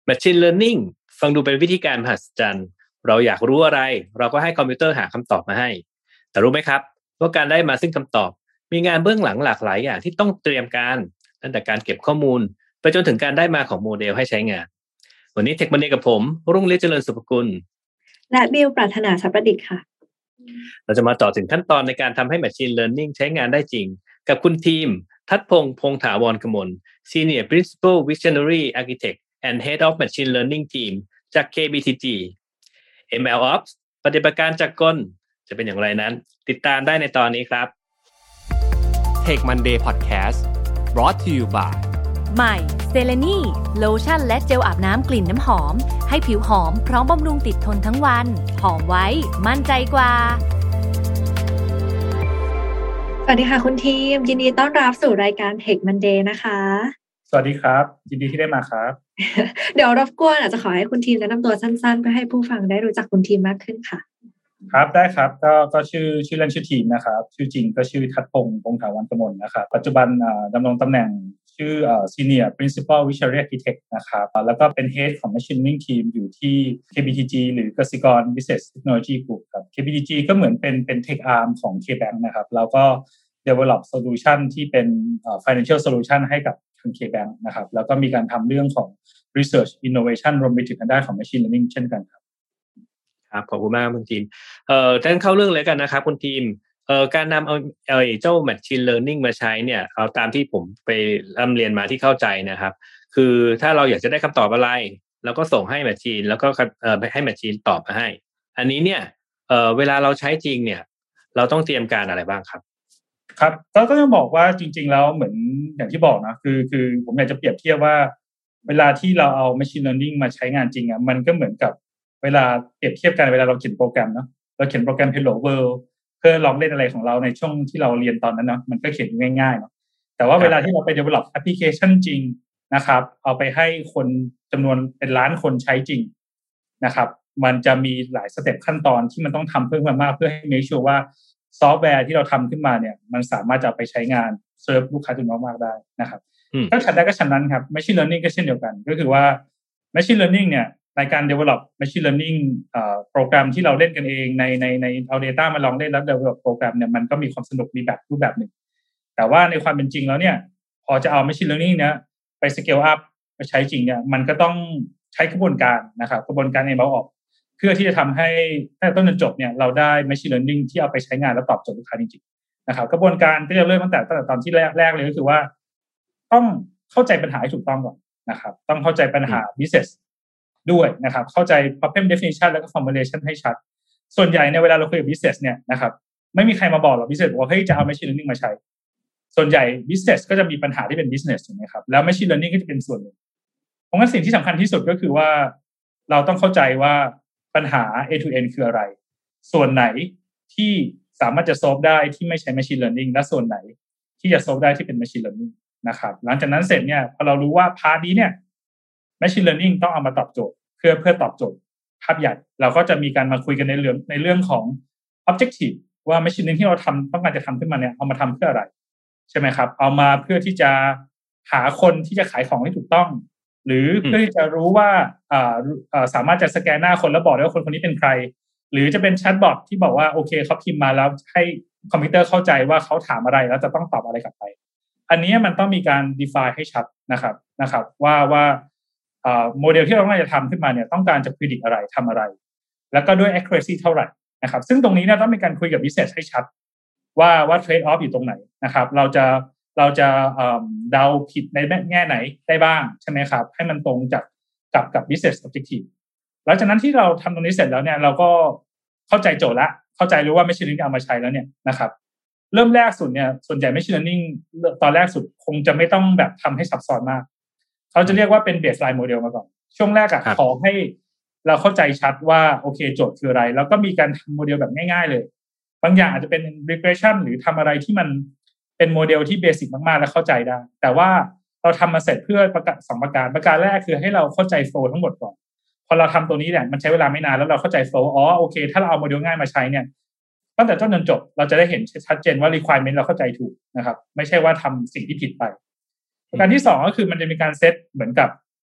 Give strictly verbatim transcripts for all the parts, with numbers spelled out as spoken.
Machine Learning ฟังดูเป็นวิธีการมหัศจรรย์เราอยากรู้อะไรเราก็ให้คอมพิวเตอร์หาคำตอบมาให้แต่รู้ไหมครับว่าการได้มาซึ่งคำตอบมีงานเบื้องหลังหลากหลายอย่างที่ต้องเตรียมการตั้งแต่การเก็บข้อมูลไปจนถึงการได้มาของโมเดลให้ใช้งานวันนี้เทคมันเดย์กับผมรุ่งฤทธิ์เจริญสุภกุลและบิวปรารถนาทรัพย์ประดิษฐ์ค่ะเราจะมาต่อถึงขั้นตอนในการทำให้ Machine Learning ใช้งานได้จริงกับคุณทีมทัศพงษ์พงษ์ถาวรกมล Senior Principal Visionary Architect and Head of Machine Learning Team จาก เค บี ที จี MLOps ปฏิบัติการจักรกลจะเป็นอย่างไรนั้นติดตามได้ในตอนนี้ครับ Tech Monday Podcast brought to you by ใหม่เซเลนีโลชั่นและเจลอาบน้ำกลิ่นน้ำหอมให้ผิวหอมพร้อมบำรุงติดทนทั้งวันหอมไว้มั่นใจกว่าสวัสดีค่ะคุณทีมยินดีต้อนรับสู่รายการ Tech Monday นะคะสวัสดีครับยินดีที่ได้มาครับเดี๋ยวรบกวนอาจจะขอให้คุณทีมแนะนำตัวสั้นๆเพื่อให้ผู้ฟังได้รู้จักคุณทีมมากขึ้นค่ะครับได้ครับก็ก็ชื่อชื่อเล่นชื่อทีมนะครับชื่อจริงก็ชื่อทัศพงษ์พงษ์ถาวรกมลนะครับปัจจุบันดำรงตำแหน่งชื่อ Senior Principal Visionary Architect นะครับแล้วก็เป็น Head ของ Machine Learning Team อยู่ที่ เค บี ที จี หรือกสิกร Business Technology Group ครับ เค บี ที จี ก็เหมือนเป็นเป็น Tech Arm ของ K-Bank นะครับแล้วก็ develop solution ที่เป็น financial solution ให้กับทาง K-Bank นะครับแล้วก็มีการทำเรื่องของ research innovation รวมไปถึงทางด้านของ machine learning เช่นกันครับครับขอบคุณมากคุณทีมเอ่อท่านเข้าเรื่องเลยกันนะครับคุณทีมเอ่อการนำเอาเอ่อเจ้า machine learning มาใช้เนี่ยเอาตามที่ผมไปร่ำเรียนมาที่เข้าใจนะครับคือถ้าเราอยากจะได้คำตอบอะไรเราก็ส่งให้ machine แล้วก็เอ่อให้ machine ตอบมาให้อันนี้เนี่ยเอ่อเวลาเราใช้จริงเนี่ยเราต้องเตรียมการอะไรบ้างครับครับก็ก็ต้องบอกว่าจริงๆแล้วเหมือนอย่างที่บอกนะคือคือผมอยากจะเปรียบเทียบว่าเวลาที่เราเอา machine learning มาใช้งานจริงอ่ะมันก็เหมือนกับเวลาเปรียบเทียบกันเวลาเราเขียนโปรแกรมเนาะเราเขียนโปรแกรม Hello World เพื่อลองเล่นอะไรของเราในช่วงที่เราเรียนตอนนั้นเนาะมันก็เขียนง่ายๆเนาะแต่ว่าเวลาที่เราไป develop application จริงนะครับเอาไปให้คนจำนวนเป็นล้านคนใช้จริงนะครับมันจะมีหลายสเต็ปขั้นตอนที่มันต้องทำเพิ่มมากเพื่อให้ make sure ว่าซอฟต์แวร์ที่เราทำขึ้นมาเนี่ยมันสามารถจะไปใช้งานเซิร์ฟลูกค้าจำนวนมากได้นะครับก็ฉันได้ก็ฉันนั้นครับ machine learning ก็เช่นเดียวกันก็คือว่า machine learning เนี่ยในการ develop machine learning เอ่อโปรแกรมที่เราเล่นกันเองในในในเอา data มาลองเล่นแล้ว develop โปรแกรมเนี่ยมันก็มีความสนุกมีแบบรูปแบบหนึ่งแต่ว่าในความเป็นจริงแล้วเนี่ยพอจะเอา machine learning เนี่ยไป scale up ไปใช้จริงเนี่ยมันก็ต้องใช้กระบวนการนะครับกระบวนการ เอ็ม แอล Ops เพื่อที่จะทำให้ตั้งแต่ต้นจนจบเนี่ยเราได้ machine learning ที่เอาไปใช้งานแล้วตอบโจทย์ลูกค้าจริงๆนะครับกระบวนการก็จะเริ่มตั้งแต่ตั้งแต่ตอนที่แรกแรกเลยก็คือว่าต้องเข้าใจปัญหาให้ถูกต้องก่อนนะครับต้องเข้าใจปัญหา business ด้วยนะครับเข้าใจ problem definition แล้วก็ formulation ให้ชัดส่วนใหญ่ในเวลาเราคุยกับ business เนี่ยนะครับไม่มีใครมาบอกหรอก business บอกว่าเฮ้ยจะเอา machine learning มาใช้ส่วนใหญ่ business ก็จะมีปัญหาที่เป็น business ถูกไหมครับแล้ว machine learning ก็จะเป็นส่วนหนึ่งเพราะงั้นสิ่งที่สำคัญที่สุดก็คือว่าเราต้องเข้าใจว่าปัญหา A to N คืออะไรส่วนไหนที่สามารถจะ solve ได้ที่ไม่ใช้ machine learning และส่วนไหนที่จะ solve ได้ที่เป็น machine learning นะครับหลังจากนั้นเสร็จเนี่ยพอเรารู้ว่าพาร์ทนี้เนี่ย machine learning ต้องเอามาตอบโจทย์เพื่อเพื่อตอบโจทย์ภาพใหญ่เราก็จะมีการมาคุยกันในเรื่องในเรื่องของ objective ว่า machine learning ที่เราทำต้องการจะทำขึ้นมาเนี่ยเอามาทำเพื่ออะไรใช่ไหมครับเอามาเพื่อที่จะหาคนที่จะขายของให้ถูกต้องหรือเพื่อที่จะรู้ว่าอ่าอ่าสามารถจะสแกนหน้าคนแล้วบอกได้ว่าคนคนนี้เป็นใครหรือจะเป็นแชทบอทที่บอกว่าโอเคเขาพิมพ์มาแล้วให้คอมพิวเตอร์เข้าใจว่าเขาถามอะไรแล้วจะต้องตอบอะไรกลับไปอันนี้มันต้องมีการ define ให้ชัดนะครับนะครับว่าว่าอ่าโมเดลที่เราต้องการจะทำขึ้นมาเนี่ยต้องการจะ predict อะไรทำอะไรแล้วก็ด้วย accuracy เท่าไหร่นะครับซึ่งตรงนี้เนี่ยต้องมีการคุยกับ business ให้ชัดว่าว่า trade off อยู่ตรงไหนนะครับเราจะเราจะเดาผิดในแง่ไหนได้บ้างใช่ไหมครับให้มันตรงจากกับกับ business objective หลังจากนั้นที่เราทำตรงนี้เสร็จแล้วเนี่ยเราก็เข้าใจโจทย์ละเข้าใจรู้ว่า machine learning เอามาใช้แล้วเนี่ยนะครับเริ่มแรกสุดเนี่ยส่วนใหญ่ machine learning ตอนแรกสุดคงจะไม่ต้องแบบทำให้ซับซ้อนมากเขาจะเรียกว่าเป็น baseline model มาก่อนช่วงแรกอะขอให้เราเข้าใจชัดว่าโอเคโจทย์คืออะไรแล้วก็มีการทำโมเดลแบบง่ายๆเลยบางอย่างอาจจะเป็น regression หรือทำอะไรที่มันเป็นโมเดลที่เบสิกมากๆและเข้าใจได้แต่ว่าเราทำมาเสร็จเพื่อประกาศสองประการประการแรกคือให้เราเข้าใจโฟลว์ทั้งหมดก่อนพอเราทำตัวนี้เนี่ยมันใช้เวลาไม่นานแล้วเราเข้าใจโฟลว์อ๋อโอเคถ้าเราเอาโมเดลง่ายมาใช้เนี่ยตั้งแต่ต้นจนจบเราจะได้เห็นชัดเจนว่า requirement เราเข้าใจถูกนะครับไม่ใช่ว่าทำสิ่งที่ผิดไปประการที่สองก็คือมันจะมีการเซตเหมือนกับ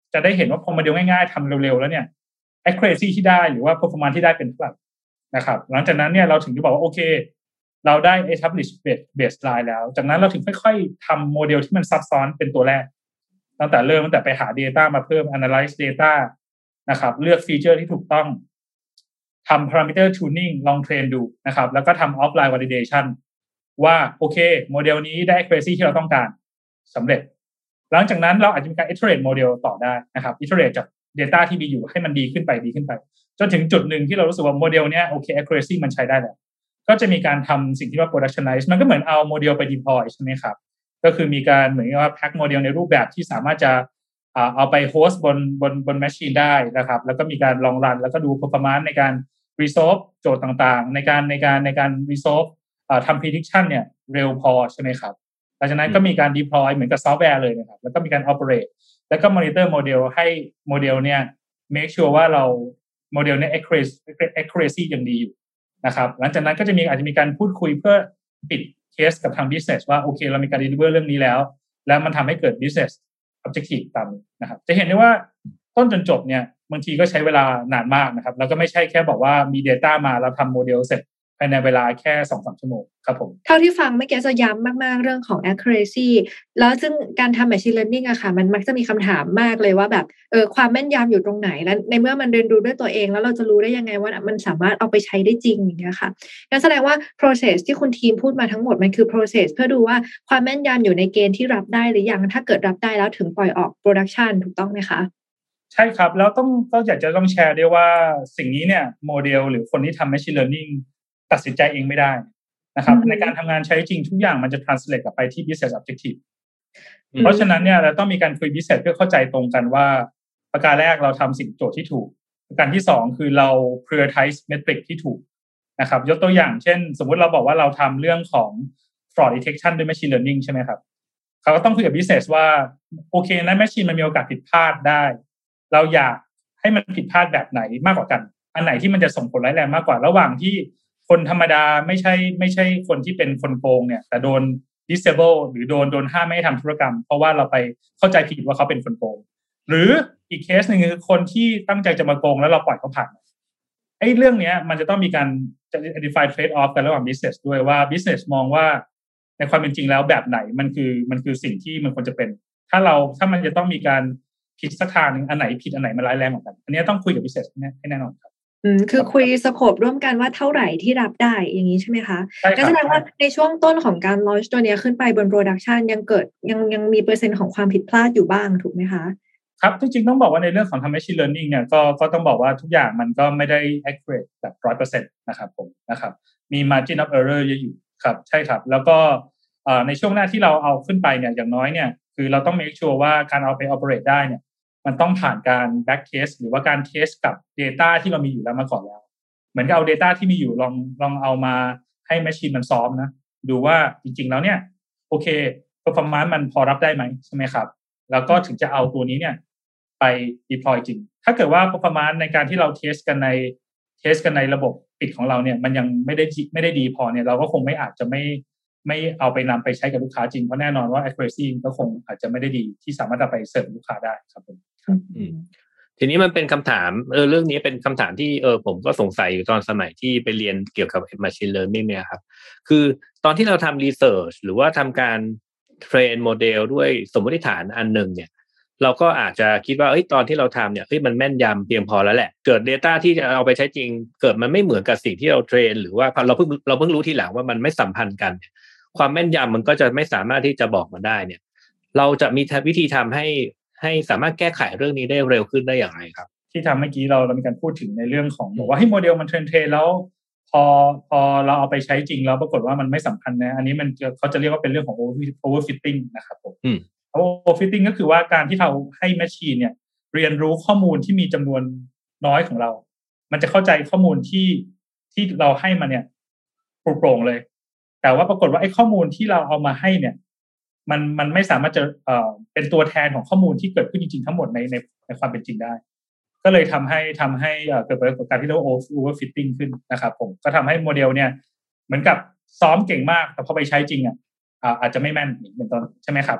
จะได้เห็นว่าพอโมเดลง่ายๆทำเร็วๆแล้วเนี่ย accuracy ที่ได้หรือว่า performance ที่ได้เป็นเท่าไหร่นะครับหลังจากนั้นเนี่ยเราถึงจะบอกว่าโอเคเราได้ establish baseline แล้วจากนั้นเราถึงค่อยๆทำโมเดลที่มันซับซ้อนเป็นตัวแรกตั้งแต่เริ่มตั้งแต่ไปหา data มาเพิ่ม analyze data นะครับเลือกฟีเจอร์ที่ถูกต้องทำ parameter tuning ลองเทรนดูนะครับแล้วก็ทำ offline validation ว่าโอเคโมเดลนี้ได้ accuracy ที่เราต้องการสำเร็จหลังจากนั้นเราอาจจะมีการ iterate โมเดลต่อได้นะครับ iterate จาก data ที่มีอยู่ให้มันดีขึ้นไปดีขึ้นไปจนถึงจุดหนึ่งที่เรารู้สึกว่าโมเดลเนี้ยโอเค accuracy มันใช้ได้แล้วก็จะมีการทำสิ่งที่ว่า productionize มันก็เหมือนเอาโมเดลไป deploy ใช่ไหมครับก็คือมีการเหมือนกับว่า pack โมเดลในรูปแบบที่สามารถจะเอาไปโฮสต์บนบนบน machine ได้นะครับแล้วก็มีการลองรันแล้วก็ดู performance ในการ resolve โจทย์ต่างๆในการในการในการ resolve ทำ prediction เนี่ยเร็วพอใช่ไหมครับหลังจากนั้นก็มีการ deploy เหมือนกับซอฟต์แวร์เลยนะครับแล้วก็มีการ operate แล้วก็ monitor โมเดลให้โมเดลเนี่ย make sure ว่าเราโมเดลเนี่ย accuracy accuracy ยังดีอยู่นะครับหลังจากนั้นก็จะมีอาจจะมีการพูดคุยเพื่อปิดเคสกับทาง business ว่าโอเคเรามีการ deliver เรื่องนี้แล้วแล้วมันทำให้เกิด business objective ตามนะครับจะเห็นได้ว่าต้นจนจบเนี่ยบางทีก็ใช้เวลานานมากนะครับแล้วก็ไม่ใช่แค่บอกว่ามี data มาแล้วทำโมเดลเสร็จภายในเวลาแค่ สองถึงสาม ชั่วโมงครับผมเท่าที่ฟังเมื่อกี้จะย้ำมากๆเรื่องของ accuracy แล้วซึ่งการทำ machine learning อะค่ะมันมักจะมีคำถามมากเลยว่าแบบเออความแม่นยำอยู่ตรงไหนและในเมื่อมันเรียนรู้ด้วยตัวเองแล้วเราจะรู้ได้ยังไงว่ามันสามารถเอาไปใช้ได้จริงอย่างเงี้ยค่ะงั้นแสดงว่า process ที่คุณทีมพูดมาทั้งหมดมันคือ process เพื่อดูว่าความแม่นยำอยู่ในเกณฑ์ที่รับได้หรือยังถ้าเกิดรับได้แล้วถึงปล่อยออก production ถูกต้องไหมคะใช่ครับแล้วต้องก็อยากจะต้องแชร์ด้วยว่าสิ่งนี้เนี่ยโมเดลหรือคนที่ทำ machine learning ตัดสินใจเองไม่ได้นะครับในการทำงานใช้จริงทุกอย่างมันจะ translate กลับไปที่ business objective เพราะฉะนั้นเนี่ยเราต้องมีการคุย business เพื่อเข้าใจตรงกันว่าประการแรกเราทำสิ่งโจทย์ที่ถูกประการที่สองคือเรา prioritize metric ที่ถูกนะครับยกตัวอย่างเช่นสมมุติเราบอกว่าเราทำเรื่องของ fraud detection ด้วย machine learning ใช่ไหมครับเขาก็ต้องคุยกับ business ว่าโอเคนะ machine มันมีโอกาสผิดพลาดได้เราอยากให้มันผิดพลาดแบบไหนมากกว่ากันอันไหนที่มันจะส่งผลร้ายแรงมากกว่าระหว่างที่คนธรรมดาไม่ใช่ไม่ใช่คนที่เป็นคนโกงเนี่ยแต่โดน disable หรือโดนโดนห้ามไม่ให้ทำธุรกรรมเพราะว่าเราไปเข้าใจผิดว่าเขาเป็นคนโกงหรืออีกเคสหนึ่งคือคนที่ตั้งใจจะมาโกงแล้วเราปล่อยเขาผ่านไอ้เรื่องนี้มันจะต้องมีการจะ identify trade off กันระหว่าง business ด้วยว่า business มองว่าในความเป็นจริงแล้วแบบไหนมันคือมันคือสิ่งที่มันควรจะเป็นถ้าเราถ้ามันจะต้องมีการผิดสักทางนึงอันไหนผิดอันไหนมันร้ายแรงกว่ากันอันนี้ต้องคุยกับ business ให้แน่นอนครับอืมคือคุยสโคปร่วมกันว่าเท่าไหร่ที่รับได้อย่างนี้ใช่ไหมคะก็แสดงว่าในช่วงต้นของการ launch ตัวนี้ขึ้นไปบน production ยังเกิดยังยังมีเปอร์เซ็นต์ของความผิดพลาดอยู่บ้างถูกไหมคะครับจริงๆต้องบอกว่าในเรื่องของทำ machine learning เนี่ยก็ก็ต้องบอกว่าทุกอย่างมันก็ไม่ได้ accurate แบบ หนึ่งร้อยเปอร์เซ็นต์ นะครับผมนะครับมี margin of error เยอะอยู่ครับใช่ครับแล้วก็ในช่วงหน้าที่เราเอาขึ้นไปเนี่ยอย่างน้อยเนี่ยคือเราต้อง make sure ว่าการเอาไป operate ได้เนี่ยมันต้องผ่านการ back test หรือว่าการ test กับ data ที่เรามีอยู่แล้วมาก่อนแล้วเหมือนกับเอา data ที่มีอยู่ลองลองเอามาให้ machine มันซ้อมนะดูว่าจริงๆแล้วเนี่ยโอเค performance มันพอรับได้ไหมใช่ไหมครับแล้วก็ถึงจะเอาตัวนี้เนี่ยไป deploy จริงถ้าเกิดว่า performance ในการที่เรา test กันใน test กันในระบบปิดของเราเนี่ยมันยังไม่ได้ไม่ได้ดีพอเนี่ยเราก็คงไม่อาจจะไม่ไม่เอาไปนำไปใช้กับลูกค้าจริงเพราะแน่นอนว่า accuracy ก็คงอาจจะไม่ได้ดีที่สามารถเอาไปเสิร์ฟลูกค้าได้ครับผมทีนี้มันเป็นคำถามเออเรื่องนี้เป็นคำถามที่เออผมก็สงสัยอยู่ตอนสมัยที่ไปเรียนเกี่ยวกับ machine learning เนี่ยครับคือตอนที่เราทำ research หรือว่าทำการเทรนโมเดลด้วยสมมติฐานอันหนึ่งเนี่ยเราก็อาจจะคิดว่าเอ้ยตอนที่เราทำเนี่ยเฮ้ยมันแม่นยำเพียงพอแล้วแหละเกิด data ที่จะเอาไปใช้จริงเกิดมันไม่เหมือนกับสิ่งที่เราเทรนหรือว่าเราเพิ่งเราเพิ่งรู้ทีหลังว่ามันไม่สัมพันธ์กันความแม่นยำมันก็จะไม่สามารถที่จะบอกมาได้เนี่ยเราจะมีวิธีทำให้ให้สามารถแก้ไขเรื่องนี้ได้เร็วขึ้นได้อย่างไรครับที่ทำเมื่อกี้เราเรามีการพูดถึงในเรื่องของบอกว่าให้โมเดลมันเทรนเทรนแล้วพอพอเราเอาไปใช้จริงแล้วปรากฏว่ามันไม่สัมพันธ์นะอันนี้มันเขาจะเรียกว่าเป็นเรื่องของ overfitting นะครับผม overfitting ก็คือว่าการที่เราให้แมชชีนเนี่ยเรียนรู้ข้อมูลที่มีจำนวนน้อยของเรามันจะเข้าใจข้อมูลที่ที่เราให้มันเนี่ยโปร่งเลยแต่ว่าปรากฏว่าไอ้ข้อมูลที่เราเอามาให้เนี่ยมันมันไม่สามารถจะเอ่อเป็นตัวแทนของข้อมูลที่เกิดขึ้นจริงๆทั้งหมดในในในความเป็นจริงได้ก็เลยทำให้ทำให้เกิดปรากฏการณ์ที่เรียกว่า overfitting ขึ้นนะครับผมก็ทำให้โมเดลเนี่ยเหมือนกับซ้อมเก่งมากแต่พอไปใช้จริงอ่ะอาจจะไม่แม่นเป็นต้นใช่ไหมครับ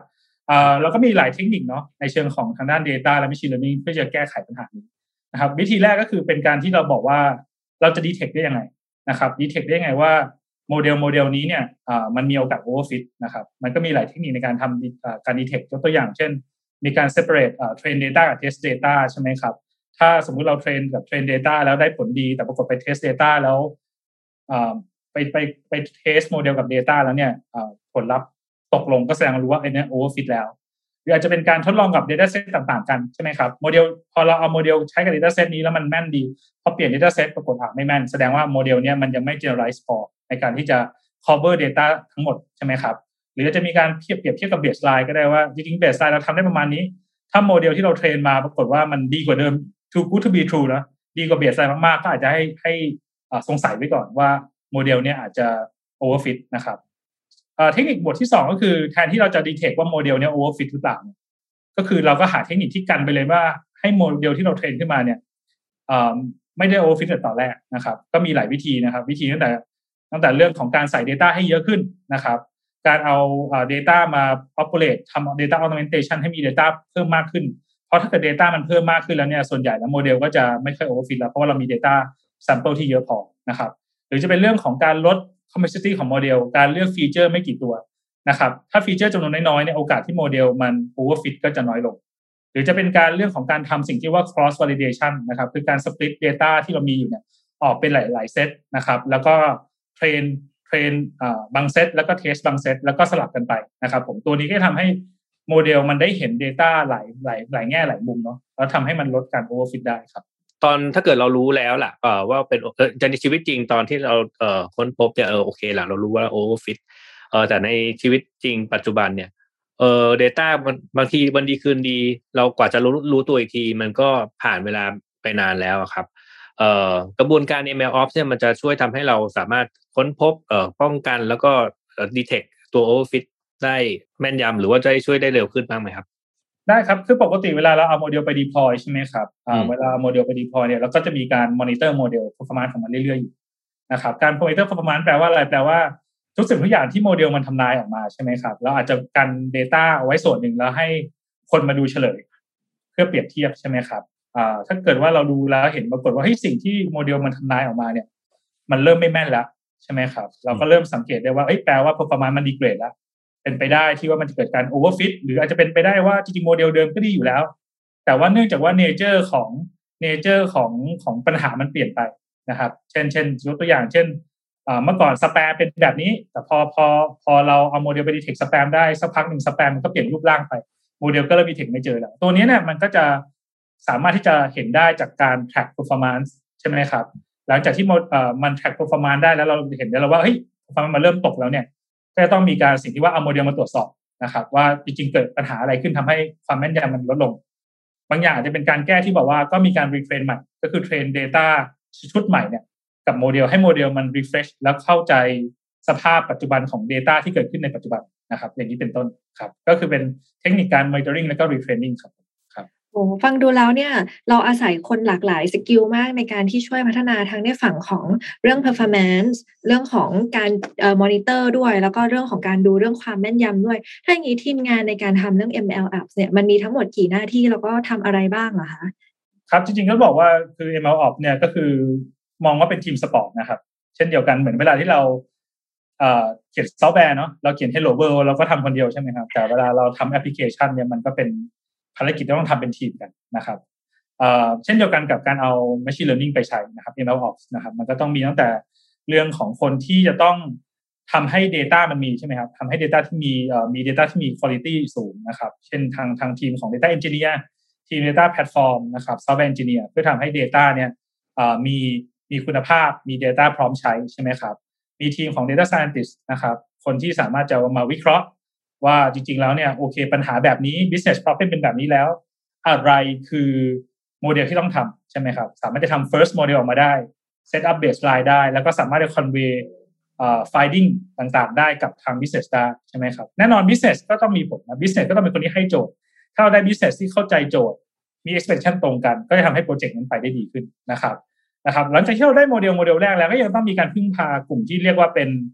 อ่าเราก็มีหลายเทคนิคเนาะในเชิงของทางด้าน data และ machine learning เพื่อจะแก้ไขปัญหานี้นะครับวิธีแรกก็คือเป็นการที่เราบอกว่าเราจะ detect ได้ยังไงนะครับ detect ได้ยังไงว่าโมเดลโมเดลนี้เนี่ยอ่ามันมีโอกาส overfit นะครับมันก็มีหลายเทคนิคในการทำการ detect ยกตัวอย่างเช่นมีการ separate อ่า train data กับ test data ใช่ไหมครับถ้าสมมุติเราเทรนกับ train data แล้วได้ผลดีแต่ปรากฏไป test data แล้วอ่าไปไปไป test โมเดลกับ data แล้วเนี่ยอ่าผลลัพธ์ตกลงก็แสดงรู้ว่าไอ้นี่ overfit แล้วหรืออาจจะเป็นการทดลองกับ data set ต่างๆกันใช่ไหมครับโมเดลพอเราเอาโมเดลใช้กับ data set นี้แล้วมันแม่นดีพอเปลี่ยน data set ปรากฏอ่ะไม่แม่นแสดงว่าโมเดลเนี้ยมันยังไม่ generalize พอในการที่จะ cover data ทั้งหมดใช่ไหมครับหรือจะมีการเทียบเปรียบเทียบกับ baseline ก็ได้ว่าจริงๆ baseline เราทำได้ประมาณนี้ถ้าโมเดลที่เราเทรนมาปรากฏว่ามันดีกว่าเดิม too good to be true นะดีกว่า baseline มากๆก็อาจจะให้ให้สงสัยไว้ก่อนว่าโมเดลเนี้ยอาจจะ overfit นะครับเทคนิคบทที่สองก็คือแทนที่เราจะ detect ว่าโมเดลเนี้ย overfit หรือเปล่าก็คือเราก็หาเทคนิคที่กันไปเลยว่าให้โมเดลที่เราเทรนขึ้นมาเนี่ยไม่ได้ overfit ในตอนแรกนะครับก็มีหลายวิธีนะครับวิธีตั้งแต่ตั้งแต่เรื่องของการใส่ data ให้เยอะขึ้นนะครับการเอา data มา populate ทำ data augmentation ให้มี data เพิ่มมากขึ้นเพราะถ้าเกิด data มันเพิ่มมากขึ้นแล้วเนี่ยส่วนใหญ่แล้วโมเดลก็จะไม่ค่อย overfit แล้วเพราะว่าเรามี data sample ที่เยอะพอนะครับหรือจะเป็นเรื่องของการลด complexity ของโมเดลการเลือกฟีเจอร์ไม่กี่ตัวนะครับถ้าฟีเจอร์จำนวนน้อยๆเนี่ยโอกาสที่โมเดลมัน overfit ก็จะน้อยลงหรือจะเป็นการเรื่องของการทำสิ่งที่ว่า cross validation นะครับคือการ split data ที่เรามีอยู่เนี่ยออกเป็นหลายๆเซตนะครับแล้วก็เทรนเทรนบางเซตแล้วก็เทสบางเซตแล้วก็สลับกันไปนะครับผมตัวนี้ก็ทำให้โมเดลมันได้เห็น data หลายหลายหลายแง่หลายมุมเนาะแล้วทำให้มันลดการ overfit ได้ครับตอนถ้าเกิดเรารู้แล้วล่ะเอ่อว่าเป็นเอ่อในชีวิตจริงตอนที่เราเอ่อค้นพบเนี่ยเออโอเคล่ะเรารู้ว่า overfit เอ่อแต่ในชีวิตจริงปัจจุบันเนี่ยเอ่อ data มันบางทีวันดีคืนดีเรากว่าจะรู้รู้ตัวอีกทีมันก็ผ่านเวลาไปนานแล้วครับเอ่อกระบวนการ เอ็ม แอล Ops เนี่ยมันจะช่วยทำให้เราสามารถค้นพบเอ่อป้องกันแล้วก็เอ่อ detect ตัว overfit ได้แม่นยำหรือว่าจะช่วยได้เร็วขึ้นบ้างไหมครับได้ครับคือปกติเวลาเราเอาโมเดลไป deploy ใช่ไหมครับอ่าเวลาโมเดลไป deploy เนี่ยเราก็จะมีการ monitor โมเดล performance ของมันเรื่อยๆอยู่นะครับการ monitor performance แปลว่าอะไรแปลว่าทุกสิ่งทุกอย่างที่โมเดลมันทำนายออกมาใช่ไหมครับเราอาจจะกัน data เอาไว้ส่วนหนึ่งแล้วให้คนมาดูเฉลยเพื่อเปรียบเทียบใช่ไหมครับอ่าถ้าเกิดว่าเราดูแล้วเห็นปรากฏว่าเฮ้ยสิ่งที่โมเดลมันทำนายออกมาเนี่ยมันเริ่มไม่แม่นแล้วใช่ไหมครับเราก็เริ่มสังเกตได้ว่าเอ้ยแปลว่า performance มัน degrade แล้วเป็นไปได้ที่ว่ามันจะเกิดการ overfit หรืออาจจะเป็นไปได้ว่าจริงๆโมเดลเดิมก็ดีอยู่แล้วแต่ว่าเนื่องจากว่า nature ของ nature ของของปัญหามันเปลี่ยนไปนะครับเช่นเช่นยกตัวอย่างเช่นเมื่อก่อนสแปมเป็นแบบนี้แต่พอพอพอเราเอาโมเดลไป detect สแปมได้สักพักหนึ่งสแปมมันก็เปลี่ยนรูปร่างไปโมเดลก็เริ่ม detect ไม่เจอแล้วตัวนี้เนี่ยมันก็จะสามารถที่จะเห็นได้จากการ track performance ใช่ไหมครับหลังจากที่มัน track performance ได้แล้วเราเห็นได้แล้วว่าเฮ้ย performance มันเริ่มตกแล้วเนี่ยก็จะต้องมีการสิ่งที่ว่าเอาโมเดลมาตรวจสอบนะครับว่าจริงๆเกิดปัญหาอะไรขึ้นทำให้ความแม่นยำมันลดลงบางอย่างอาจจะเป็นการแก้ที่บอกว่าก็มีการ retrain ใหม่ก็คือเทรน data ชุดใหม่เนี่ยกับโมเดลให้โมเดลมัน refresh แล้วเข้าใจสภาพปัจจุบันของ data ที่เกิดขึ้นในปัจจุบันนะครับอย่างนี้เป็นต้นครับก็คือเป็นเทคนิคการ monitoring แล้วก็ retraining ครับโอ้ฟังดูแล้วเนี่ยเราอาศัยคนหลากหลายสกิลมากในการที่ช่วยพัฒนาทั้งในฝั่งของเรื่อง performance เรื่องของการเอ่อ monitor ด้วยแล้วก็เรื่องของการดูเรื่องความแม่นยำด้วยถ้าอย่างนี้ทีมงานในการทำเรื่อง เอ็ม แอล Ops เนี่ยมันมีทั้งหมดกี่หน้าที่แล้วก็ทำอะไรบ้างเหรอคะครับจริงๆก็บอกว่าคือ เอ็ม แอล Ops เนี่ยก็คือมองว่าเป็นทีมสปอร์ตนะครับเช่นเดียวกันเหมือนเวลาที่เราเอ่อเขียนซอฟต์แวร์เนาะเราเขียน Hello World เราก็ทำคนเดียวใช่ไหมครับแต่เวลาเราทำแอปพลิเคชันเนี่ยมันก็เป็นภารกิจที่ต้องทำเป็นทีมกันนะครับเอ่อเช่นเดียวกันกับการเอา machine learning ไปใช้นะครับ เอ็ม แอล Ops นะครับมันก็ต้องมีตั้งแต่เรื่องของคนที่จะต้องทำให้ data มันมีใช่ไหมครับทำให้ data ที่มีเอ่อมี data ที่มี quality สูงนะครับเช่นทางทางทีมของ data engineer ทีม data platform นะครับ software engineer เพื่อทำให้ data เนี่ยเอ่อมีมีคุณภาพมี data พร้อมใช้ใช่ไหมครับมีทีมของ data scientist นะครับคนที่สามารถจะมาวิเคราะห์ว่าจริงๆแล้วเนี่ยโอเคปัญหาแบบนี้ business problem เป็นแบบนี้แล้วอะไรคือโมเดลที่ต้องทำใช่ไหมครับสามารถจะทำ first model ออกมาได้ set up baseline ได้แล้วก็สามารถจะ convey เอ่อ finding ต่างๆได้กับทาง business ได้ใช่ไหมครับแน่นอน business ก็ต้องมีผลนะ business ก็ต้องเป็นคนที่ให้โจทย์ถ้าเราได้ business ที่เข้าใจโจทย์มี expectation ตรงกันก็จะทำให้โปรเจกต์นั้นไปได้ดีขึ้นนะครับนะครับหลังจากที่เราได้โมเดลโมเดลแรกแล้วก็ยังต้องมีการพึ่งพากลุ่มที่เรียกว่าเป็น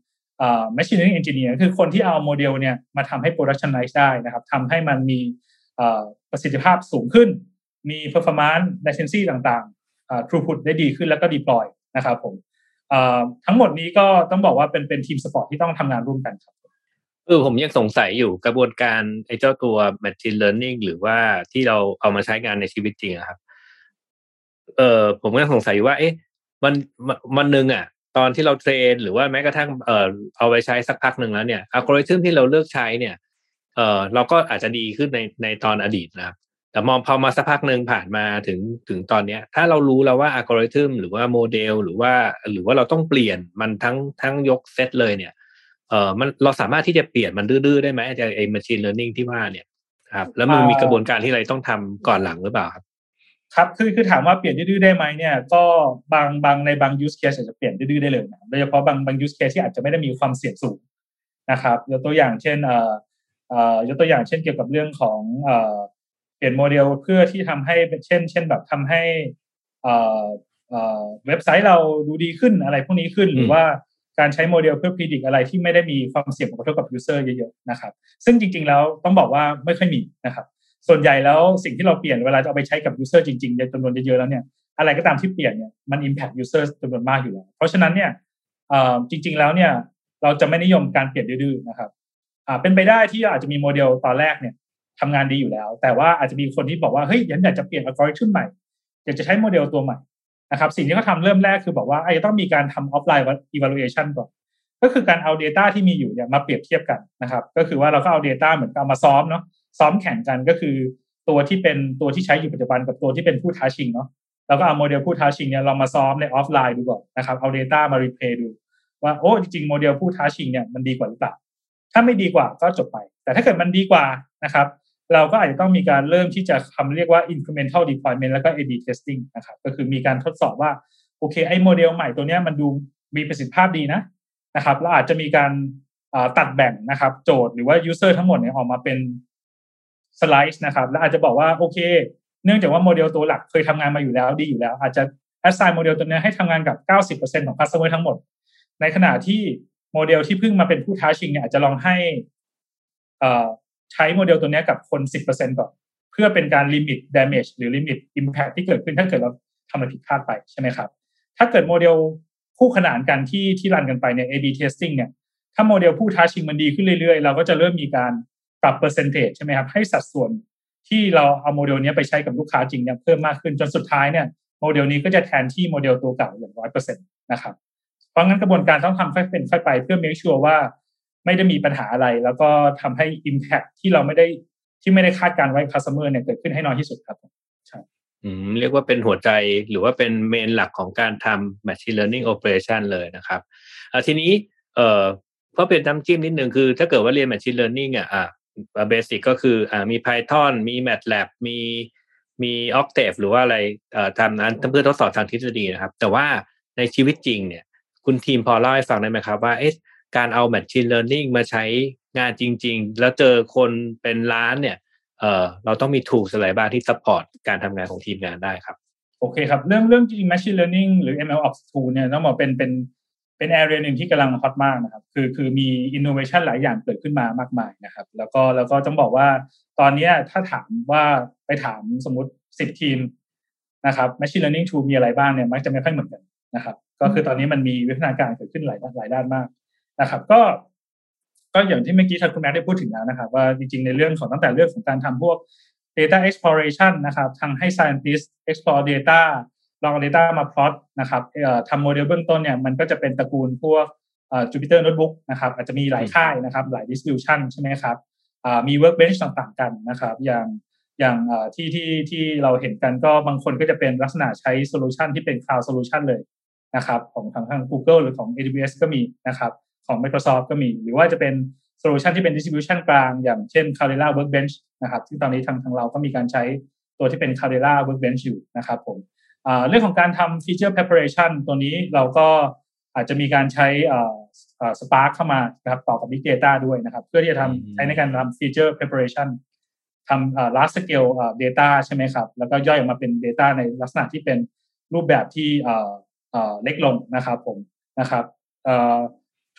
เอ่อ machine learning engineer คือคนที่เอาโมเดลเนี่ยมาทำให้ productionize ได้นะครับทำให้มันมีเอ่อประสิทธิภาพสูงขึ้นมี performance latency ต่างๆเอ่อ throughput ได้ดีขึ้นแล้วก็ deploy นะครับผมเอ่อทั้งหมดนี้ก็ต้องบอกว่าเป็นเป็นทีมสปอร์ตที่ต้องทำงานร่วมกันครับเออผมยังสงสัยอยู่กระบวนการไอ้เจ้าตัว machine learning หรือว่าที่เราเอามาใช้งานในชีวิตจริงครับเออผมก็สงสัยว่าเอ๊ะมันมันนึงอ่ะตอนที่เราเทรนหรือว่าแม้กระทั่งเออเอาไปใช้สักพักนึงแล้วเนี่ยอัลกอริทึมที่เราเลือกใช้เนี่ยเออเราก็อาจจะดีขึ้นในในตอนอดีตนะครับแต่มองพอมาสักพักนึงผ่านมาถึงถึงตอนเนี้ยถ้าเรารู้แล้วว่าอัลกอริทึมหรือว่าโมเดลหรือว่าหรือว่าเราต้องเปลี่ยนมันทั้งทั้งยกเซตเลยเนี่ยเออมันเราสามารถที่จะเปลี่ยนมันดื้อๆได้ไหมไอ้ machine learning ที่ว่าเนี่ยครับแล้วมันมีกระบวนการที่เราต้องทำก่อนหลังหรือเปล่าครับครับคือคือถามว่าเปลี่ยนดื้อๆได้ไหมเนี่ยก็บางบางในบาง use case อาจจะเปลี่ยนดื้อๆได้เลยนะโดยเฉพาะบางบาง use case ที่อาจจะไม่ได้มีความเสี่ยงสูงนะครับยกตัวอย่างเช่นเอ่อเอ่อยกตัวอย่างเช่นเกี่ยวกับเรื่องของเอ่อเปลี่ยนโมเดลเพื่อที่ทำให้เช่นเช่นแบบทำให้เอ่อเอ่อเว็บไซต์เราดูดีขึ้นอะไรพวกนี้ขึ้นหรือว่าการใช้โมเดลเพื่อ predict อะไรที่ไม่ได้มีความเสี่ยงกระทบกับ user เยอะๆนะครับซึ่งจริงๆแล้วต้องบอกว่าไม่ค่อยมีนะครับส่วนใหญ่แล้วสิ่งที่เราเปลี่ยนเวลาจะเอาไปใช้กับ user จริงๆในจำนวนเยอะๆแล้วเนี่ยอะไรก็ตามที่เปลี่ยนเนี่ยมัน impact user จำนวนมากอยู่แล้วเพราะฉะนั้นเนี่ยเอ่อจริงๆแล้วเนี่ยเราจะไม่นิยมการเปลี่ยนดื้อๆนะครับอ่าเป็นไปได้ที่อาจจะมีโมเดลตอนแรกเนี่ยทำงานดีอยู่แล้วแต่ว่าอาจจะมีคนที่บอกว่าเฮ้ยฉันอยากจะเปลี่ยน algorithm ใหม่อยากจะใช้โมเดลตัวใหม่นะครับสิ่งที่เขาทำเริ่มแรกคือบอกว่าไอ้ต้องมีการทำ offline evaluation ก่อนก็คือการเอา data ที่มีอยู่เนี่ยมาเปรียบเทียบกันนะครับก็คือว่าเราก็เอา data เหมือนกับมาซ้อมเนาะซ้อมแข่งกันก็คือตัวที่เป็นตัวที่ใช้อยู่ปัจจุบันกับตัวที่เป็นผู้ท้าชิงเนาะเราก็เอาโมเดลผู้ท้าชิงเนี่ยลองมาซ้อมในออฟไลน์ดูก่อนนะครับเอา data มา replay ดูว่าโอ้จริงๆโมเดลผู้ท้าชิงเนี่ยมันดีกว่าหรือเปล่าถ้าไม่ดีกว่าก็จบไปแต่ถ้าเกิดมันดีกว่านะครับเราก็อาจจะต้องมีการเริ่มที่จะทำเรียกว่า incremental deployment แล้วก็ เอ บี testing นะครับก็คือมีการทดสอบว่าโอเคไอ้โมเดลใหม่ตัวนี้มันดูมีประสิทธิภาพดีนะนะครับแล้วอาจจะมีการตัดแบ่งนะครับโจทย์หรือว่า user ทั้งหมดเนี่ยออกมาเป็นสไลด์นะครับแล้วอาจจะบอกว่าโอเคเนื่องจากว่าโมเดลตัวหลักเคยทำงานมาอยู่แล้วดีอยู่แล้วอาจจะ assign โมเดลตัวนี้ให้ทำงานกับ เก้าสิบเปอร์เซ็นต์ ของ customer ทั้งหมดในขณะที่โมเดลที่เพิ่งมาเป็นผู้ท้าชิงเนี่ยอาจจะลองให้เอ่อใช้โมเดลตัวนี้กับคน สิบเปอร์เซ็นต์ ก่อนเพื่อเป็นการ limit damage หรือ limit impact ที่เกิดขึ้นถ้าเกิดเราทำอะไรผิดพลาดไปใช่ไหมครับถ้าเกิดโมเดลคู่ขนานกันที่ที่รันกันไปเนี่ย เอ บี testing เนี่ยถ้าโมเดลผู้ท้าชิงมันดีขึ้นเรื่อยๆเราก็จะเริ่มมีการปรับ percentage ใช่ไหมครับให้สัดส่วนที่เราเอาโมเดลนี้ไปใช้กับลูกค้าจริงเนี่ยเพิ่มมากขึ้นจนสุดท้ายเนี่ยโมเดลนี้ก็จะแทนที่โมเดลตัวเก่าอย่าง หนึ่งร้อยเปอร์เซ็นต์ นะครับเพราะงั้นกระบวนการต้องทำค่อยเป็นค่อยไปเพื่อ make sure ว่าไม่ได้มีปัญหาอะไรแล้วก็ทำให้ impact ที่เราไม่ได้ที่ไม่ได้คาดการไว้ customer เนี่ยเกิดขึ้นให้น้อยที่สุดครับใช่อืมเรียกว่าเป็นหัวใจหรือว่าเป็นเมนหลักของการทำ machine learning operation เลยนะครับอ่าทีนี้เอ่อก็เป็นน้ำจิ้มนิดนึงคือถ้าเกิดว่าเรียน machine learning อ่ะอ่าเบสิกก็คืออ่ามี Python มี MATLAB มีมี Octave หรือว่าอะไรเอ่อทำนั้นเพื่อทดสอบทางทฤษฎีนะครับแต่ว่าในชีวิตจริงเนี่ยคุณทีมพอเล่าให้ฟังได้ไหมครับว่าเอ๊ะการเอา machine learning มาใช้งานจริงๆแล้วเจอคนเป็นล้านเนี่ยเอ่อเราต้องมี tools อะไรบ้างที่ support การทำงานของทีมงานได้ครับโอเคครับเรื่องเรื่องจริง machine learning หรือ เอ็ม แอล Ops tool เนี่ยต้องบอกเป็นเป็นเป็น area นึงที่กำลังฮอตมากนะครับคือคือมี innovation หลายอย่างเกิดขึ้นมามากมายนะครับแล้วก็แล้วก็ต้องบอกว่าตอนนี้ถ้าถามว่าไปถามสมมุติสิบทีมนะครับ machine learning tool มีอะไรบ้างเนี่ยมักจะไม่ค่อยเหมือนกันนะครับก็คือตอนนี้มันมีวิวัฒนาการเกิดขึ้นหลายหลายด้านมากนะครับก็ก็อย่างที่เมื่อกี้ท่านคุณแม็กได้พูดถึงแล้วนะครับว่าจริงๆในเรื่องของตั้งแต่เรื่องของการทำพวก data exploration นะครับทำให้ scientist explore data ลอง data มา plot นะครับเอ่อทำโมเดลเบื้องต้นเนี่ยมันก็จะเป็นตระกูลพวกเอ่อ Jupyter Notebook นะครับอาจจะมีหลายค่ายนะครับหลาย distribution ใช่ไหมครับอ่ามี workbench ต่างๆกันนะครับอย่างอย่างเอ่อที่ที่ที่เราเห็นกันก็บางคนก็จะเป็นลักษณะใช้ solution ที่เป็น cloud solution เลยนะครับของทางทาง Google หรือของ เอ ดับเบิลยู เอส ก็มีนะครับของ Microsoft ก็มีหรือว่าจะเป็นโซลูชันที่เป็น distribution กลางอย่างเช่น Cloudera Workbench นะครับที่ตอนนี้ทางทางเราก็มีการใช้ตัวที่เป็น Cloudera Workbench อยู่นะครับผมอ่าเรื่องของการทำ feature preparation ตัวนี้เราก็อาจจะมีการใช้อ่าอ่า Spark เข้ามานะครับต่อกับ Big Data ด้วยนะครับเพื่อที่จะทำใช้ในการทำ feature preparation ทำอ่า large scale อ่า data ใช่ไหมครับแล้วก็ย่อยออกมาเป็น data ในลักษณะที่เป็นรูปแบบที่อ่าอ่าเล็กลงนะครับผมนะครับอ่า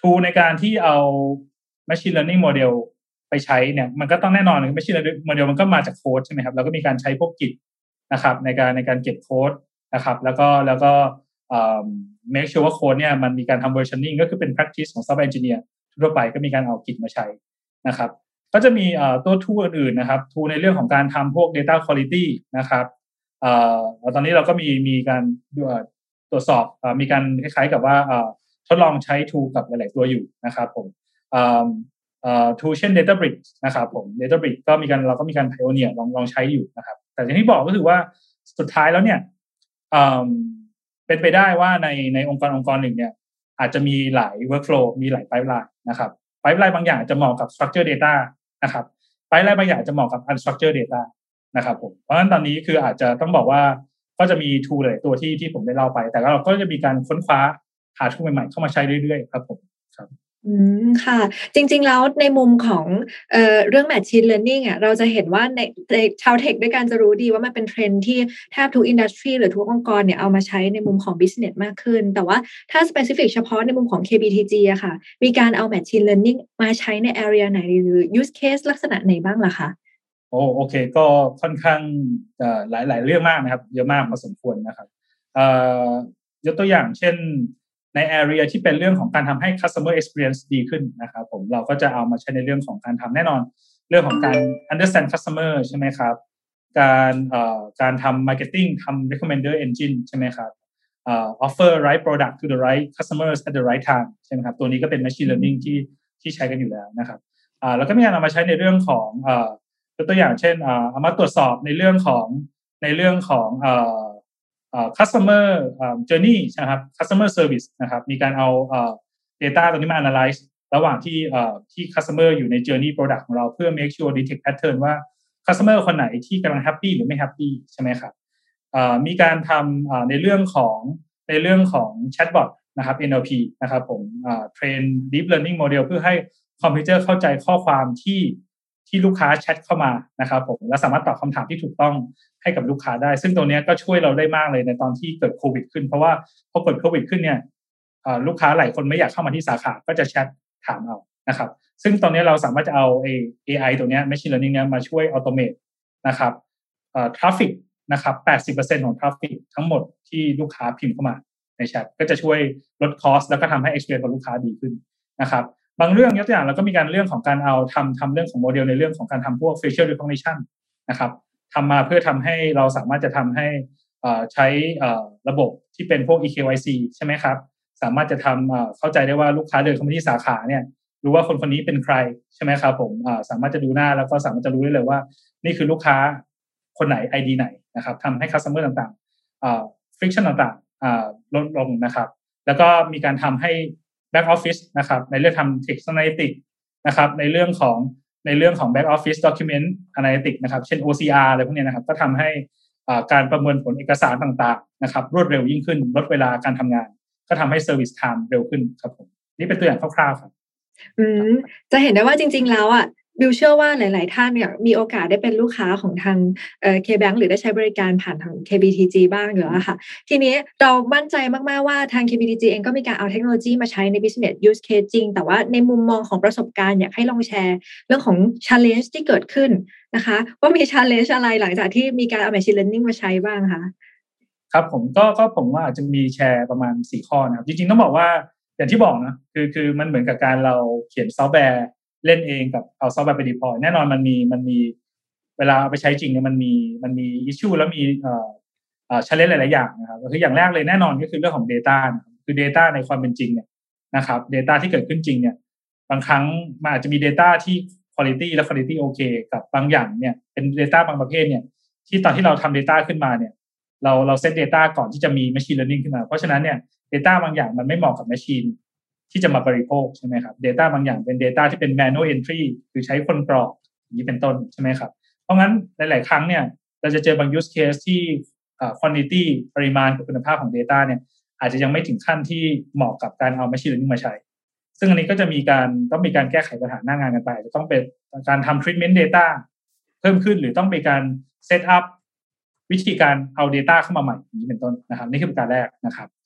tool ในการที่เอา machine learning model ไปใช้เนี่ยมันก็ต้องแน่นอนเลย machine learning model มันก็มาจากโค้ดใช่ไหมครับแล้วก็มีการใช้พวก Git นะครับในการในการเก็บโค้ดนะครับแล้วก็แล้วก็เอ่อ make sure ว่าโค้ดเนี่ยมันมีการทำ versioning ก็คือเป็น practice ของ software engineer ทั่วไปก็มีการเอา Git มาใช้นะครับก็จะมีตัว tool อื่นๆนะครับ tool ในเรื่องของการทำพวก data quality นะครับเอ่อตอนนี้เราก็มีมีการตรวจสอบมีการคล้ายๆกับว่าทดลองใช้ tool กับหลายๆตัวอยู่นะครับผมเอ่อเอ่อ tool เช่น Databricks นะครับผม Databricks ก็มีการเราก็มีการ pioneer ลองลองใช้อยู่นะครับแต่อย่างที่บอกก็คือว่าสุดท้ายแล้วเนี่ยเอ่อเป็นไปได้ว่าในในองค์กรองค์กรหนึ่งเนี่ยอาจจะมีหลาย workflow มีหลาย pipeline นะครับ pipeline บางอย่างจะเหมาะกับ structured data นะครับ pipeline บางอย่างจะเหมาะกับ unstructured data นะครับผมเพราะฉะนั้นตอนนี้คืออาจจะต้องบอกว่าก็จะมี tool หลายตัวที่ที่ผมได้เล่าไปแต่เราก็จะมีการค้นคว้าหา tool ใหม่ๆเข้ามาใช้เรื่อยๆครับผมครับอืมค่ะจริงๆแล้วในมุมของเอ่อเรื่อง Machine Learning อ่ะเราจะเห็นว่าในในชาวเทคด้วยกันจะรู้ดีว่ามันเป็นเทรนด์ที่แทบทุกอินดัสทรีหรือทุกองค์กรเนี่ยเอามาใช้ในมุมของ business มากขึ้นแต่ว่าถ้า specific เฉพาะในมุมของ เค บี ที จี อะค่ะมีการเอา Machine Learning มาใช้ใน area ไหนหรือ use case ลักษณะไหนบ้างล่ะคะโอ้โอเคก็ค่อนข้างเอ่อหลายๆเรื่องมากนะครับเยอะมากพอสมควรนะครับเอ่อยกตัวอย่างเช่นใน area ที่เป็นเรื่องของการทำให้ customer experience ดีขึ้นนะครับผมเราก็จะเอามาใช้ในเรื่องของการทำแน่นอนเรื่องของการ understand customer ใช่ไหมครับการเอ่อการทำ marketing ทำ recommender engine ใช่ไหมครับเอ่อ offer right product to the right customers at the right time ใช่ไหมครับตัวนี้ก็เป็น machine learning ที่ที่ใช้กันอยู่แล้วนะครับอ่าแล้วก็มีการเอามาใช้ในเรื่องของเอ่อยกตัวอย่างเช่นอ่าเอามาตรวจสอบในเรื่องของในเรื่องของเอ่อเอ่อ customer journey นะครับ customer service นะครับมีการเอาเอ่อ data ตรงนี้มา analyze ระหว่างที่เอ่อที่ customer อยู่ใน journey product ของเราเพื่อ make sure detect pattern ว่า customer คนไหนที่กำลัง happy หรือไม่ happy ใช่ไหมครับเอ่อมีการทำในเรื่องของในเรื่องของ chatbot นะครับ เอ็น แอล พี นะครับผมเอ่อ train deep learning model เพื่อให้คอมพิวเตอร์เข้าใจข้อความที่ที่ลูกค้าแชทเข้ามานะครับผมและสามารถตอบคำถามที่ถูกต้องให้กับลูกค้าได้ซึ่งตรงนี้ก็ช่วยเราได้มากเลยในตอนที่เกิดโควิดขึ้นเพราะว่าพอเกิดโควิดขึ้นเนี่ยลูกค้าหลายคนไม่อยากเข้ามาที่สาขาก็จะแชทถามเอานะครับซึ่งตอนนี้เราสามารถจะเอา เอ ไอ ตัวนี้ machine learning เนี่ยมาช่วยออโตเมตนะครับเอ่อ traffic นะครับ แปดสิบเปอร์เซ็นต์ ของ traffic ทั้งหมดที่ลูกค้าพิมพ์เข้ามาในแชทก็จะช่วยลด cost แล้วก็ทำให้ experience ของลูกค้าดีขึ้นนะครับบางเรื่องยกตัวอย่างเราก็มีการเรื่องของการเอาทำทำเรื่องของโมเดลในเรื่องของการทำพวก facial recognition นะครับทำมาเพื่อทำให้เราสามารถจะทำให้ใช้ระบบที่เป็นพวก อี เค วาย ซี ใช่ไหมครับสามารถจะทำเข้าใจได้ว่าลูกค้าเดินเข้ามาที่สาขาเนี่ยรู้ว่าคนคนนี้เป็นใครใช่ไหมครับผมสามารถจะดูหน้าแล้วก็สามารถจะรู้ได้เลยว่านี่คือลูกค้าคนไหน ไอ ดี ไหนนะครับทำให้ customer ต่างๆ friction ต่างๆลดลงนะครับแล้วก็มีการทำให้back office นะครับในเรื่องทำ text analytics นะครับในเรื่องของในเรื่องของ back office document analytics นะครับเช่น โอ ซี อาร์ อะไรพวกนี้นะครับก็ทำให้การประเมินผลเอกสารต่างๆนะครับรวดเร็วยิ่งขึ้นลดเวลาการทำงานก็ทำให้ service time เร็วขึ้นครับผมนี่เป็นตัวอย่างคร่าวๆครับอืมจะเห็นได้ว่าจริงๆแล้วอ่ะบิวเชื่อว่าหลายๆท่านเนี่ยมีโอกาสได้เป็นลูกค้าของทางเอ่อ K-Bank หรือได้ใช้บริการผ่านทาง เค บี ที จี บ้างอยู่แล้วค่ะทีนี้เรามั่นใจมากๆว่าทาง เค บี ที จี เองก็มีการเอาเทคโนโลยีมาใช้ใน business use case จริงแต่ว่าในมุมมองของประสบการณ์อยากให้ลองแชร์เรื่องของ challenge ที่เกิดขึ้นนะคะว่ามี challenge อะไรหลังจากที่มีการเอา machine learning มาใช้บ้างคะครับผมก็ก็ผมว่าอาจจะมีแชร์ประมาณสี่ข้อนะครับจริงๆต้องบอกว่าอย่างที่บอกนะคือคือมันเหมือนกับการเราเขียนซอฟต์แวร์เล่นเองกับเอาซอฟต์แวร์ไป deploy แน่นอนมันมีมันมีเวลาเอาไปใช้จริงเนี่ยมันมีมันมี issue แล้วมีเอ่อเอ่อ challenge หลายๆอย่างนะครับคืออย่างแรกเลยแน่นอนก็คือเรื่องของ data นะครับคือ data ในความเป็นจริงเนี่ยนะครับ data ที่เกิดขึ้นจริงเนี่ยบางครั้งมันอาจจะมี data ที่ quality และ quality โอเคกับบางอย่างเนี่ยเป็น data บางประเภทเนี่ยที่ตอนที่เราทำ data ขึ้นมาเนี่ยเราเราเซต data ก่อนที่จะมี machine learning ขึ้นมาเพราะฉะนั้นเนี่ย data บางอย่างมันไม่เหมาะกับ machineที่จะมาบริโภคใช่ไหมครับ data บางอย่างเป็น data ที่เป็น manual entry คือใช้คนกรอกอย่างนี้เป็นต้นใช่ไหมครับเพราะงั้นหลายๆครั้งเนี่ยเราจะเจอบาง use case ที่ quantity ปริมาณกับคุณภาพของ data เนี่ยอาจจะยังไม่ถึงขั้นที่เหมาะกับการเอา machine learning มาใช้ซึ่งอันนี้ก็จะมีการต้องมีการแก้ไขปัญหาหน้างานกันไปจะต้องเป็นการทำ treatment data เพิ่มขึ้นหรือต้องมีการ set up วิธีการเอา data เข้ามาใหม่อย่างนี้เป็นต้นนะครับนี่คือประการแรกนะครับป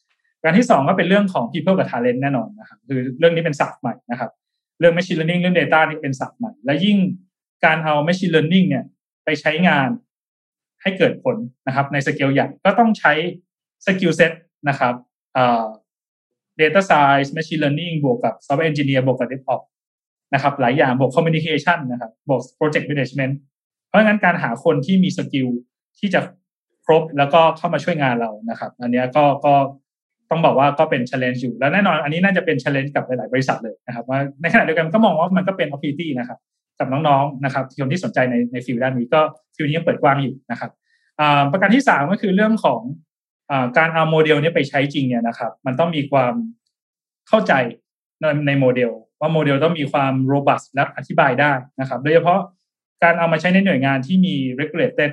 การที่สองก็เป็นเรื่องของ people กับ talent แน่นอนนะครับคือเรื่องนี้เป็นศัพท์ใหม่นะครับเรื่อง machine learning เรื่อง data นี่เป็นศัพท์ใหม่และยิ่งการเอา machine learning เนี่ยไปใช้งานให้เกิดผลนะครับในสเกลใหญ่ก็ต้องใช้ skill set นะครับเอ่อ data science machine learning บวกกับ software engineer บวกกับ DevOps นะครับหลายอย่างบวก communication นะครับบวก project management เพราะงั้นการหาคนที่มีสกิลที่จะครบแล้วก็เข้ามาช่วยงานเรานะครับอันนี้ก็ก็ต้องบอกว่าก็เป็น challenge อยู่แล้วแน่นอนอันนี้น่าจะเป็น challenge กับหลายๆบริษัทเลยนะครับว่าในขณะเดียวกันก็มองว่ามันก็เป็น opportunity นะครับกับน้องๆนะครับคนที่สนใจในในฟิลด้านนี้ก็ฟิลนี้ยังเปิดกว้างอยู่นะครับประการที่สามก็คือเรื่องของการเอาโมเดลนี้ไปใช้จริงเนี่ยนะครับมันต้องมีความเข้าใจในในโมเดลว่าโมเดลต้องมีความ robust และอธิบายได้นะครับโดยเฉพาะการเอามาใช้ในหน่วยงานที่มี regulated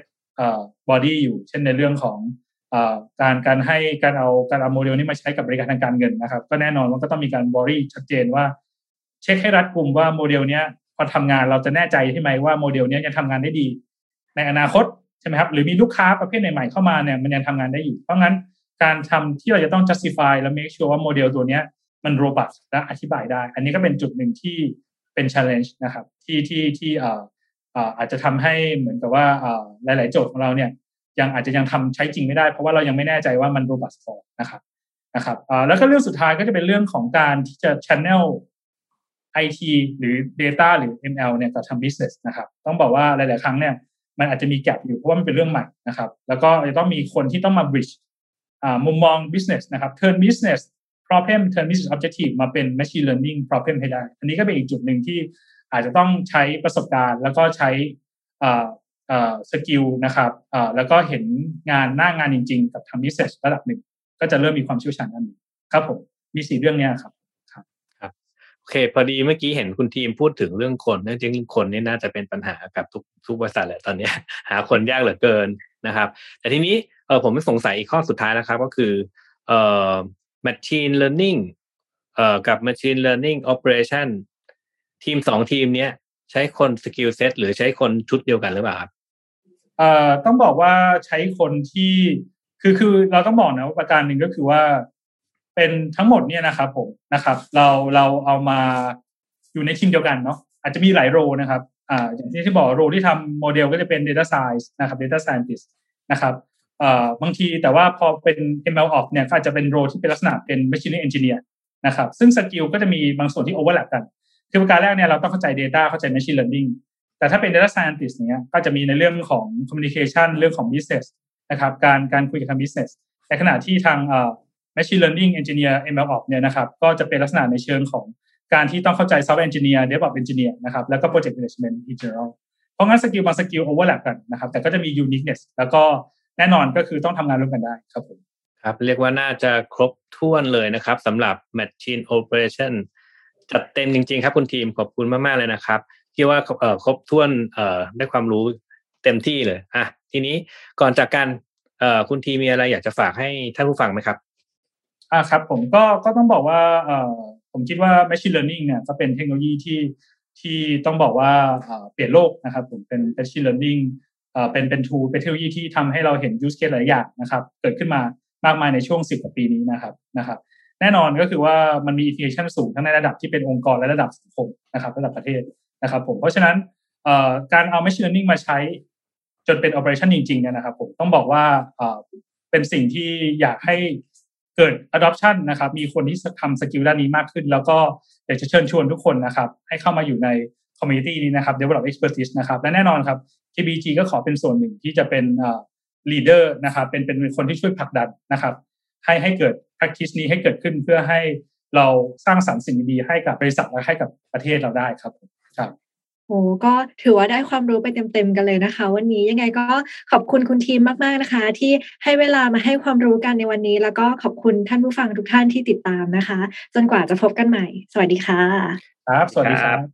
body อยู่เช่นในเรื่องของการการให้การเอาการเอาโมเดลนี้มาใช้กับบริการทางการเงินนะครับก็แน่นอนว่าก็ต้องมีการบริชัดเจนว่าเช็คให้รัดกุมว่าโมเดลนี้พอทำงานเราจะแน่ใจใช่ไหมว่าโมเดลนี้ยังทำงานได้ดีในอนาคตใช่ไหมครับหรือมีลูกค้าประเภทใหม่ๆเข้ามาเนี่ยมันยังทำงานได้อยู่เพราะงั้นการทำที่เราจะต้อง justify และ make sure ว่าโมเดลตัวนี้มัน robust และอธิบายได้อันนี้ก็เป็นจุดหนึ่งที่เป็น challenge นะครับที่ที่ที่เอ่อเอ่ออาจจะทำให้เหมือนกับว่าเอ่อหลายๆโจทย์ของเราเนี่ยยังอาจจะยังทำใช้จริงไม่ได้เพราะว่าเรายังไม่แน่ใจว่ามัน robust พอนะครับนะครับเอ่อแล้วก็เรื่องสุดท้ายก็จะเป็นเรื่องของการที่จะ channel ไอ ที หรือ data หรือ เอ็ม แอล เนี่ยกับทำ business นะครับต้องบอกว่าหลายๆครั้งเนี่ยมันอาจจะมีแกปอยู่เพราะว่ามันเป็นเรื่องใหม่นะครับแล้วก็จะต้องมีคนที่ต้องมา bridge อ่ามุมมอง business นะครับ turn business problem turn business objective มาเป็น machine learning problem ให้ได้อันนี้ก็เป็นอีกจุดหนึ่งที่อาจจะต้องใช้ประสบการณ์แล้วก็ใช้อ่าอ่าสกิลนะครับอ่าแล้วก็เห็นงานหน้างานจริงๆกับทำ business ระดับหนึ่งก็จะเริ่มมีความเชี่ยวชาญด้านนี้ครับผมมีสี่เรื่องนี้ครับโอเคพอดีเมื่อกี้เห็นคุณทีมพูดถึงเรื่องคนจริงๆคนนี่น่าจะเป็นปัญหากับทุกทุกบริษัทแหละตอนนี้หาคนยากเหลือเกินนะครับแต่ทีนี้เออผมสงสัยอีกข้อสุดท้ายแล้วครับก็คือเอ่อ machine learning เอ่อกับ machine learning operation ทีมสองทีมเนี้ยใช้คน skill set หรือใช้คนชุดเดียวกันหรือเปล่าครับเอ่อต้องบอกว่าใช้คนที่คือคือเราต้องบอกนะว่าประการหนึ่งก็คือว่าเป็นทั้งหมดเนี่ยนะครับผมนะครับเราเราเอามาอยู่ในทีมเดียวกันเนาะอาจจะมีหลายโรนะครับอ่าอย่างที่ที่บอกโรที่ทำโมเดลก็จะเป็น data science นะครับ data scientist นะครับอ่าบางทีแต่ว่าพอเป็น เอ็ม แอล Ops เนี่ยก็อาจจะเป็นโรที่เป็นลักษณะเป็น machine learning engineer นะครับซึ่งสกิลก็จะมีบางส่วนที่ overlap กันคือประการแรกเนี่ยเราต้องเข้าใจ data เข้าใจ machine learning แต่ถ้าเป็น data scientist เนี่ยก็จะมีในเรื่องของ communication เรื่องของ business นะครับการการคุยกับทาง business ในขณะที่ทางอ่าmachine learning engineer เอ็ม แอล Ops เนี่ยนะครับก็จะเป็นลักษณะในเชิงของการที่ต้องเข้าใจ software engineer DevOps engineer นะครับแล้วก็ project management in general เพราะงั้นสกิลบางสกิล overlap กันนะครับแต่ก็จะมี uniqueness แล้วก็แน่นอนก็คือต้องทำงานร่วมกันได้ครับผมครับเรียกว่าน่าจะครบถ้วนเลยนะครับสำหรับ machine operation จัดเต็มจริงๆครับคุณทีมขอบคุณมากๆเลยนะครับที่ว่าเอ่อครบถ้วนเอ่อได้ความรู้เต็มที่เลยอ่ะทีนี้ก่อนจากกันเอ่อคุณทีมมีอะไรอยากจะฝากให้ท่านผู้ฟังไหมครับอ่าครับผมก็ก็ต้องบอกว่าเอ่อผมคิดว่า machine learning เนี่ยก็เป็นเทคโนโลยีที่ที่ต้องบอกว่าเอ่อเปลี่ยนโลกนะครับผมเป็น machine learning เอ่อเป็นเป็น tool เป็นเทคโนโลยีที่ทำให้เราเห็น use case หลายอย่างนะครับเกิดขึ้นมามากมายในช่วงสิบกว่าปีนี้นะครับนะครับแน่นอนก็คือว่ามันมี implication สูงทั้งในระดับที่เป็นองค์กรและระดับสังคมนะครับระดับประเทศนะครับผมเพราะฉะนั้นเอ่อการเอา machine learning มาใช้จนเป็น operation จริงๆเนี่ยนะครับผมต้องบอกว่าเอ่อเป็นสิ่งที่อยากให้เกิด adoption นะครับมีคนที่ทำสกิลด้านนี้มากขึ้นแล้วก็อยากจะเชิญชวนทุกคนนะครับให้เข้ามาอยู่ใน community นี้นะครับ develop expertise นะครับและแน่นอนครับ เค บี จี ก็ขอเป็นส่วนหนึ่งที่จะเป็นอ่า leader นะครับเป็นเป็นคนที่ช่วยผลักดันนะครับให้ให้เกิด practice นี้ให้เกิดขึ้นเพื่อให้เราสร้างสรรค์สิ่งดีๆให้กับบริษัทและให้กับประเทศเราได้ครับครับโอ้ก็ถือว่าได้ความรู้ไปเต็มๆกันเลยนะคะวันนี้ยังไงก็ขอบคุณคุณทีมมากๆนะคะที่ให้เวลามาให้ความรู้กันในวันนี้แล้วก็ขอบคุณท่านผู้ฟังทุกท่านที่ติดตามนะคะจนกว่าจะพบกันใหม่สวัสดีค่ะครับสวัสดีครับ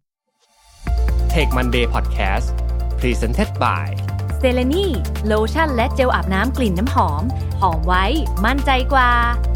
Tech Monday Podcast Presented by Stellany โลชั่นและเจลอาบน้ำกลิ่นน้ำหอมหอมไว้มั่นใจกว่า